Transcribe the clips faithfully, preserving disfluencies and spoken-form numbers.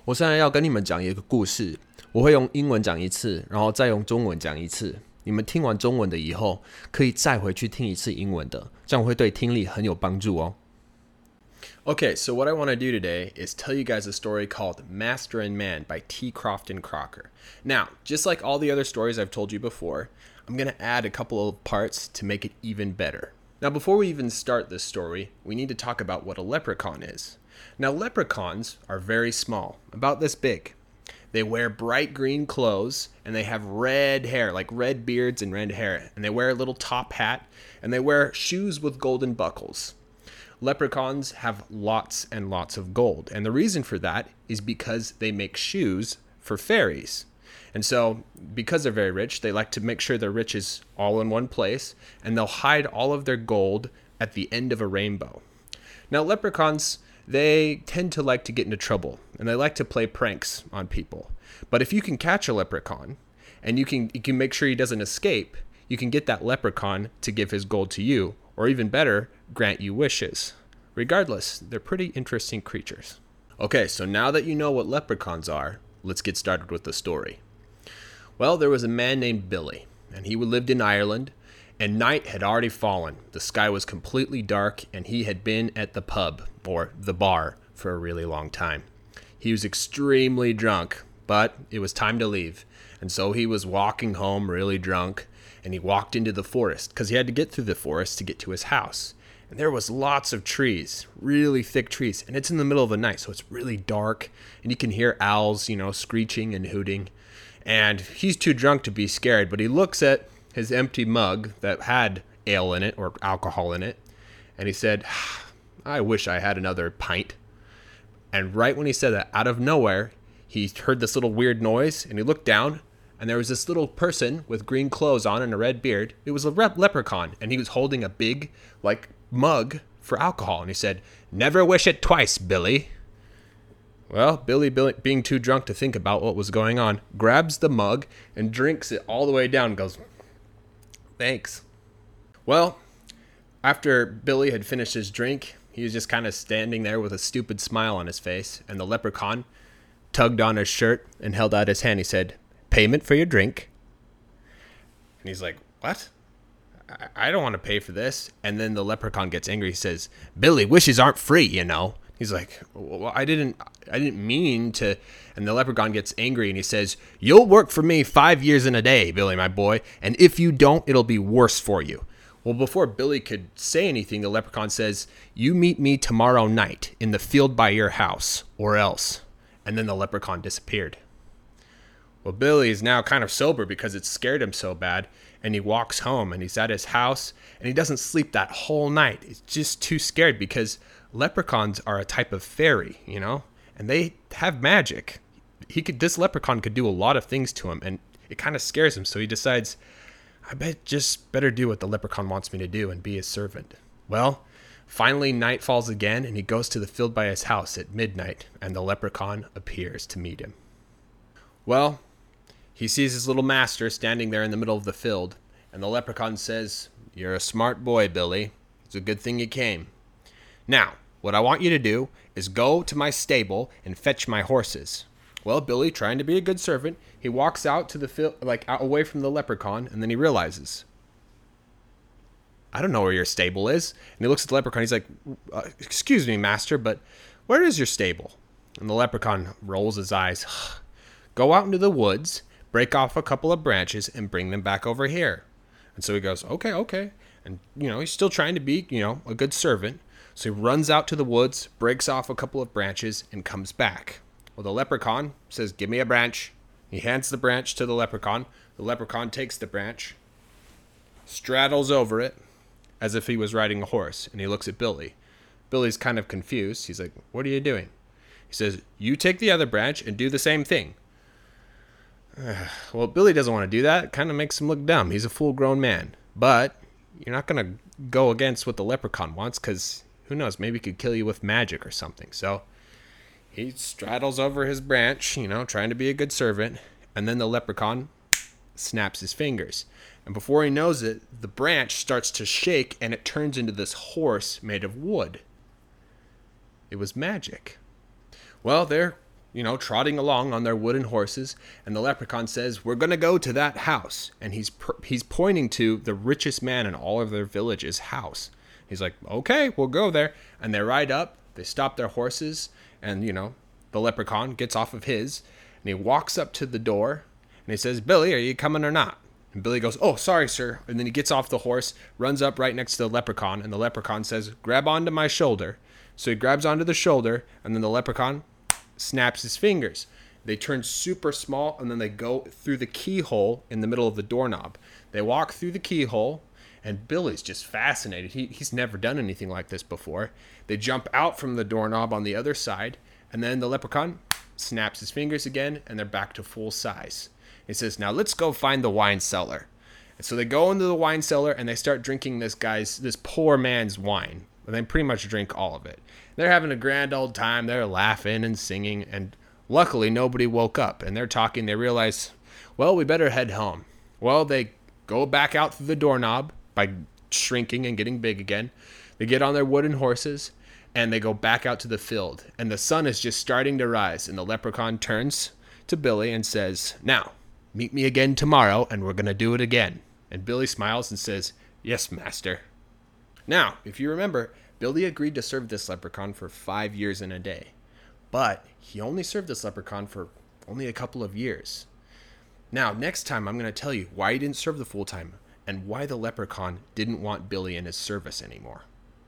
我现在要跟你们讲一个故事，我会用英文讲一次，然后再用中文讲一次。你们听完中文的以后，可以再回去听一次英文的，这样会对听力很有帮助哦。Okay, so what I want to do today is tell you guys a story called Master and Man by T. Crofton Crocker. Now, just like all the other stories I've told you before, I'm going to add a couple of parts to make it even better. Now, before we even start this story, we need to talk about what a leprechaun is. Now, leprechauns are very small, about this big. They wear bright green clothes, and they have red hair, like red beards and red hair. And they wear a little top hat, and they wear shoes with golden buckles. Leprechauns have lots and lots of gold. And the reason for that is because they make shoes for fairies. And so, because they're very rich, they like to make sure their riches all in one place, and they'll hide all of their gold at the end of a rainbow. Now, leprechauns, they tend to like to get into trouble, and they like to play pranks on people. But if you can catch a leprechaun, and you can you can make sure he doesn't escape, you can get that leprechaun to give his gold to you, or even better, grant you wishes. Regardless, they're pretty interesting creatures. Okay, so now that you know what leprechauns are, let's get started with the story. Well, there was a man named Billy, and he lived in Ireland, and night had already fallen. The sky was completely dark, and he had been at the pub, or the bar, for a really long time. He was extremely drunk, but it was time to leave, and so he was walking home really drunk, and he walked into the forest, because he had to get through the forest to get to his house. And there was lots of trees, really thick trees, and it's in the middle of the night, so it's really dark, and you can hear owls, you know, screeching and hooting. And he's too drunk to be scared, but he looks at his empty mug that had ale in it or alcohol in it, and he said, I wish I had another pint. And right when he said that, out of nowhere, he heard this little weird noise, and he looked down, and there was this little person with green clothes on and a red beard. It was a rep- leprechaun, and he was holding a big, like, mug for alcohol. And he said, never wish it twice, Billy. Well, Billy, Billy, being too drunk to think about what was going on, grabs the mug and drinks it all the way down and goes, thanks. Well, after Billy had finished his drink, he was just kind of standing there with a stupid smile on his face, and the leprechaun tugged on his shirt and held out his hand. He said, payment for your drink. And he's like, what? I, I don't want to pay for this. And then the leprechaun gets angry. He says, Billy, wishes aren't free, you know. He's like, well, I didn't I didn't mean to. And the leprechaun gets angry and he says, you'll work for me five years in a day, Billy, my boy. And if you don't, it'll be worse for you. Well, before Billy could say anything, the leprechaun says, you meet me tomorrow night in the field by your house, or else. And then the leprechaun disappeared. Well, Billy is now kind of sober because it scared him so bad. And he walks home and he's at his house and he doesn't sleep that whole night. He's just too scared because leprechauns are a type of fairy, you know, and they have magic. He could, this leprechaun could do a lot of things to him, and it kind of scares him. So he decides, I bet just better do what the leprechaun wants me to do and be his servant. Well, finally night falls again, and he goes to the field by his house at midnight, and the leprechaun appears to meet him. Well, he sees his little master standing there in the middle of the field, and the leprechaun says, you're a smart boy, Billy. It's a good thing you came. Now, what I want you to do is go to my stable and fetch my horses. Well, Billy, trying to be a good servant, he walks out to the field, like out away from the leprechaun, and then he realizes, I don't know where your stable is. And he looks at the leprechaun. He's like, uh, excuse me, master, but where is your stable? And the leprechaun rolls his eyes. Go out into the woods, break off a couple of branches, and bring them back over here. And so he goes, okay, okay. And, you know, he's still trying to be, you know, a good servant. So he runs out to the woods, breaks off a couple of branches, and comes back. Well, the leprechaun says, give me a branch. He hands the branch to the leprechaun. The leprechaun takes the branch, straddles over it, as if he was riding a horse, and he looks at Billy. Billy's kind of confused. He's like, what are you doing? He says, you take the other branch and do the same thing. Well, Billy doesn't want to do that. It kind of makes him look dumb. He's a full-grown man. But you're not going to go against what the leprechaun wants, because who knows, maybe he could kill you with magic or something. So he straddles over his branch, you know, trying to be a good servant, and then the leprechaun snaps his fingers. And before he knows it, the branch starts to shake, and it turns into this horse made of wood. It was magic. Well, there you know, trotting along on their wooden horses, and the leprechaun says, "We're gonna go to that house," and he's he's pointing to the richest man in all of their village's house. He's like, "Okay, we'll go there," and they ride up. They stop their horses, and you know, the leprechaun gets off of his, and he walks up to the door, and he says, "Billy, are you coming or not?" And Billy goes, "Oh, sorry, sir," and then he gets off the horse, runs up right next to the leprechaun, and the leprechaun says, "Grab onto my shoulder." So he grabs onto the shoulder, and then the leprechaun snaps his fingers. They turn super small, and then they go through the keyhole in the middle of the doorknob. They walk through the keyhole, and Billy's just fascinated. He, he's never done anything like this before. They jump out from the doorknob on the other side, and then the leprechaun snaps his fingers again, and they're back to full size. He says, "Now let's go find the wine cellar." And so they go into the wine cellar, and they start drinking this guy's, this poor man's wine. And they pretty much drink all of it. They're having a grand old time. They're laughing and singing, and luckily nobody woke up. And they're talking. They realize, well, we better head home. Well, they go back out through the doorknob by shrinking and getting big again. They get on their wooden horses, and they go back out to the field. And the sun is just starting to rise. And the leprechaun turns to Billy and says, "Now, meet me again tomorrow, and we're going to do it again." And Billy smiles and says, "Yes, master." Now, if you remember, Billy agreed to serve this leprechaun for five years and a day. But he only served this leprechaun for only a couple of years. Now, next time I'm going to tell you why he didn't serve the full time and why the leprechaun didn't want Billy in his service anymore.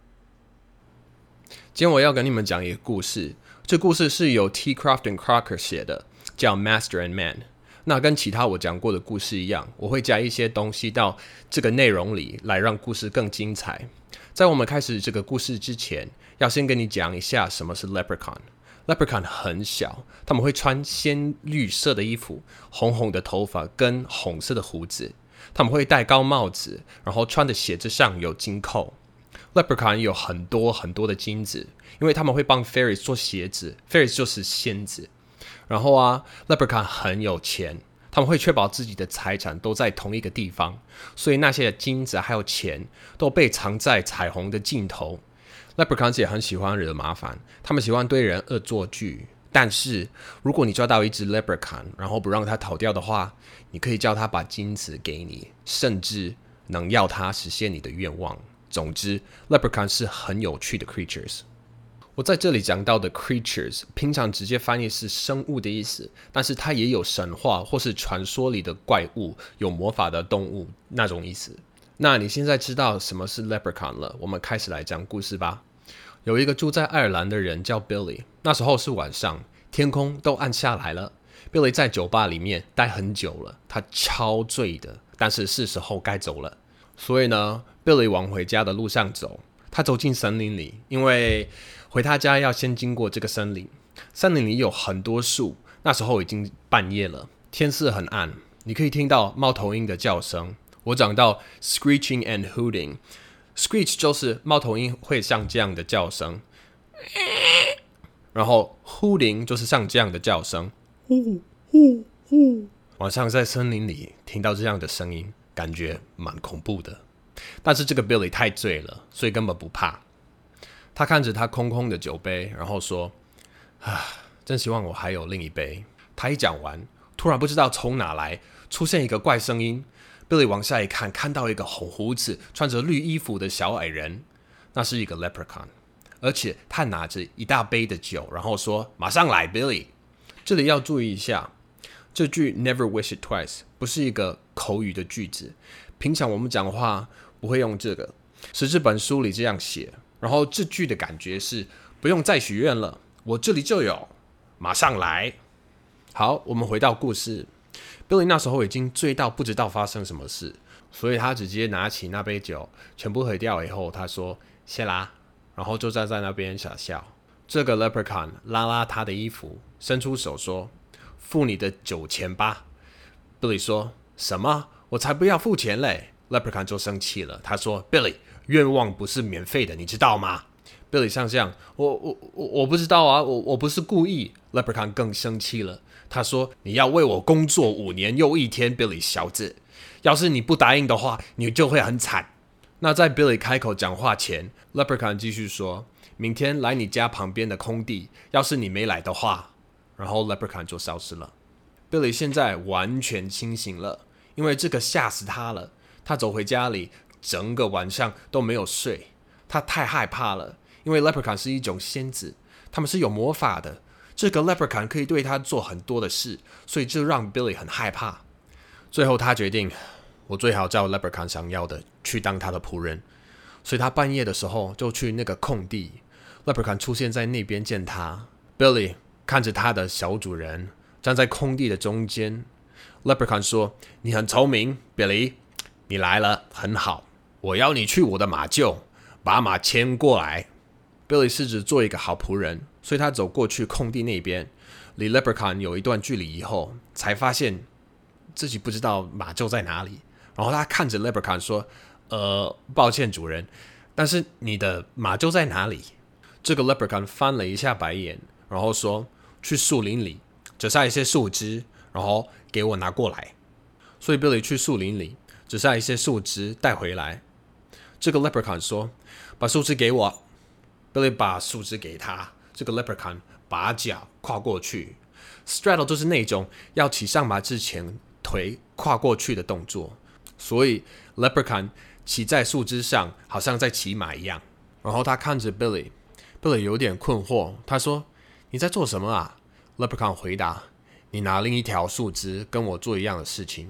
今天我要跟你们讲一个故事，这故事是由 T. Crofton Crocker 写的，叫 Master and Man。那跟其他我讲过的故事一样，我会加一些东西到这个内容里，来让故事更精彩。在我们开始这个故事之前，要先跟你讲一下什么是 Leprechaun。Leprechaun 很小，他们会穿鲜绿色的衣服，红红的头发跟红色的胡子。他们会戴高帽子，然后穿的鞋子上有金扣。Leprechaun 有很多很多的金子，因为他们会帮 Fairies 做鞋子 ，Fairies 就是仙子。然后啊 ，Leprechaun 很有钱。他们会确保自己的财产都在同一个地方，所以那些金子还有钱都被藏在彩虹的尽头。Leprechauns 也很喜欢惹麻烦，他们喜欢对人恶作剧。但是如果你抓到一只 Leprechaun， 然后不让它逃掉的话，你可以叫它把金子给你，甚至能要它实现你的愿望。总之 Leprechaun 是很有趣的 creatures。我在这里讲到的 creatures 平常直接翻译是生物的意思，但是它也有神话或是传说里的怪物，有魔法的动物那种意思。那你现在知道什么是 leprechaun 了，我们开始来讲故事吧。有一个住在爱尔兰的人叫 Billy， 那时候是晚上，天空都暗下来了。Billy 在酒吧里面待很久了，他超醉的，但是是时候该走了。所以呢 Billy 往回家的路上走，他走进森林里，因为回他家要先经过这个森林。森林里有很多树，那时候已经半夜了，天色很暗，你可以听到猫头鹰的叫声。我讲到 screeching and hooting， screech 就是猫头鹰会像这样的叫声，然后 hooting 就是像这样的叫声，呼呼呼。晚上在森林里听到这样的声音，感觉蛮恐怖的。但是这个 Billy 太醉了，所以根本不怕。他看着他空空的酒杯，然后说：“啊，真希望我还有另一杯。”他一讲完，突然不知道从哪来出现一个怪声音。Billy 往下一看，看到一个红胡子、穿着绿衣服的小矮人，那是一个 leprechaun， 而且他拿着一大杯的酒，然后说：“马上来 ，Billy。”这里要注意一下，这句 “never wish it twice” 不是一个口语的句子，平常我们讲话不会用这个，是这本书里这样写。然后这句的感觉是不用再许愿了，我这里就有，马上来。好，我们回到故事。Billy 那时候已经醉到不知道发生什么事，所以他直接拿起那杯酒，全部喝掉以后，他说谢啦，然后就站在那边傻笑。这个 leprechaun 拉拉他的衣服，伸出手说：“付你的酒钱吧。” Billy 说：“什么？我才不要付钱嘞！” Leprechaun 就生气了，他说 ：“Billy， 愿望不是免费的，你知道吗？” Billy 像这样，我我我我不知道啊，我我不是故意。Leprechaun 更生气了，他说：“你要为我工作五年又一天 ，Billy 小子，要是你不答应的话，你就会很惨。”那在 Billy 开口讲话前 ，Leprechaun 继续说：“明天来你家旁边的空地，要是你没来的话， 然后 Leprechaun 就消失了。Billy 现在完全清醒了，因为这个吓死他了。他走回家里，整个晚上都没有睡，他太害怕了，因为 Leprechaun 是一种仙子，他们是有魔法的，这个 Leprechaun 可以对他做很多的事，所以这让 Billy 很害怕。最后他决定，我最好照 Leprechaun 想要的去当他的仆人，所以他半夜的时候就去那个空地， Leprechaun 出现在那边见他。 Billy 看着他的小主人站在空地的中间， Leprechaun 说，你很聪明 Billy， 你来了很好，我要你去我的马厩把马牵过来。 Billy 试着做一个好仆人，所以他走过去空地那边，离 Leprechaun 有一段距离以后，才发现自己不知道马厩在哪里。然后他看着 Leprechaun 说，呃，抱歉主人，但是你的马厩在哪里？这个 Leprechaun 翻了一下白眼，然后说，去树林里折下一些树枝，然后给我拿过来。所以 Billy 去树林里折下一些树枝带回来。这个 Leprechaun 说，把树枝给我。 Billy 把树枝给他，这个 Leprechaun 把脚跨过去， straddle 就是那种要骑上马之前腿跨过去的动作，所以 Leprechaun 骑在树枝上，好像在骑马一样。然后他看着 Billy， Billy 有点困惑，他说，你在做什么啊？ Leprechaun 回答，你拿另一条树枝跟我做一样的事情。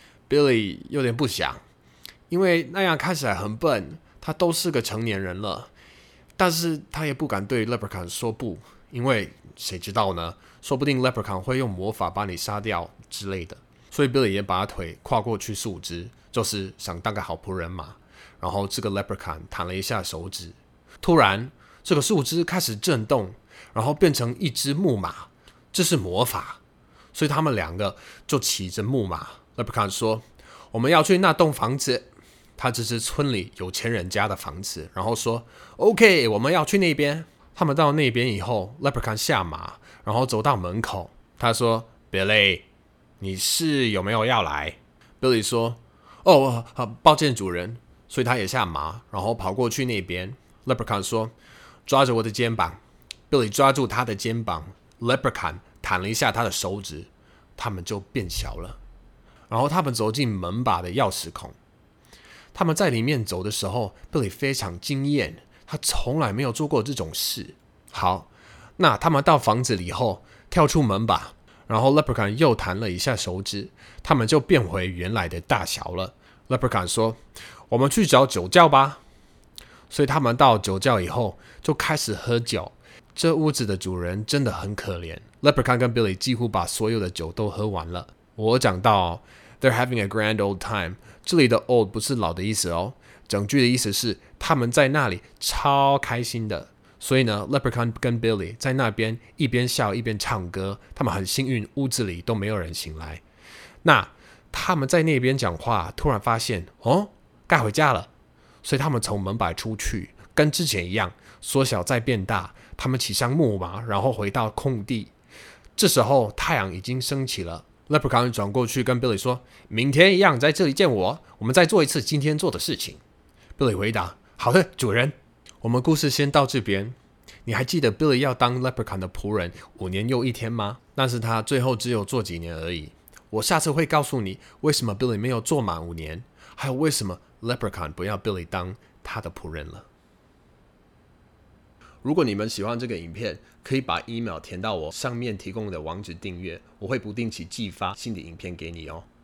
Billy 有点不想，因为那样看起来很笨，他都是个成年人了，但是他也不敢对 Leprechaun 说不，因为谁知道呢？说不定 Leprechaun 会用魔法把你杀掉之类的。所以 Billy 也把腿跨过去树枝，就是想当个好仆人嘛。然后这个 Leprechaun 弹了一下手指，突然这个树枝开始震动，然后变成一只木马，这是魔法。所以他们两个就骑着木马。 Leprechaun 说，我们要去那栋房子，他这是村里有钱人家的房子，然后说 OK， 我们要去那边。他们到那边以后， Leprechaun 下马，然后走到门口，他说 Billy， 你是有没有要来？ Billy 说，哦，抱歉主人，所以他也下马，然后跑过去那边。 Leprechaun 说，抓着我的肩膀。 Billy 抓住他的肩膀， Leprechaun 弹了一下他的手指，他们就变小了。然后他们走进门把的钥匙孔，他们在里面走的时候， Billy 非常惊艳，他从来没有做过这种事。好，那他们到房子里后，跳出门把，然后 Leprechaun 又弹了一下手指，他们就变回原来的大小了。 Leprechaun 说，我们去找酒窖吧。所以他们到酒窖以后就开始喝酒。这屋子的主人真的很可怜， Leprechaun 跟 Billy 几乎把所有的酒都喝完了。我讲到They're having a grand old time， 这里的 old 不是老的意思哦，整句的意思是他们在那里超开心的。所以呢 Leprechaun 跟 Billy 在那边一边笑一边唱歌，他们很幸运屋子里都没有人醒来。那他们在那边讲话，突然发现哦，该回家了，所以他们从门把出去，跟之前一样缩小再变大，他们骑上木马，然后回到空地。这时候太阳已经升起了， Leprechaun 转过去跟 Billy 说，明天一样在这里见我，我们再做一次今天做的事情。 Billy 回答，好的主人。我们故事先到这边。你还记得 Billy 要当 Leprechaun 的仆人五年又一天吗？但是他最后只有做几年而已。我下次会告诉你为什么 Billy 没有做满五年，还有为什么 Leprechaun 不要 Billy 当他的仆人了。如果你们喜欢这个影片，可以把 email 填到我上面提供的网址订阅，我会不定期寄发新的影片给你哦。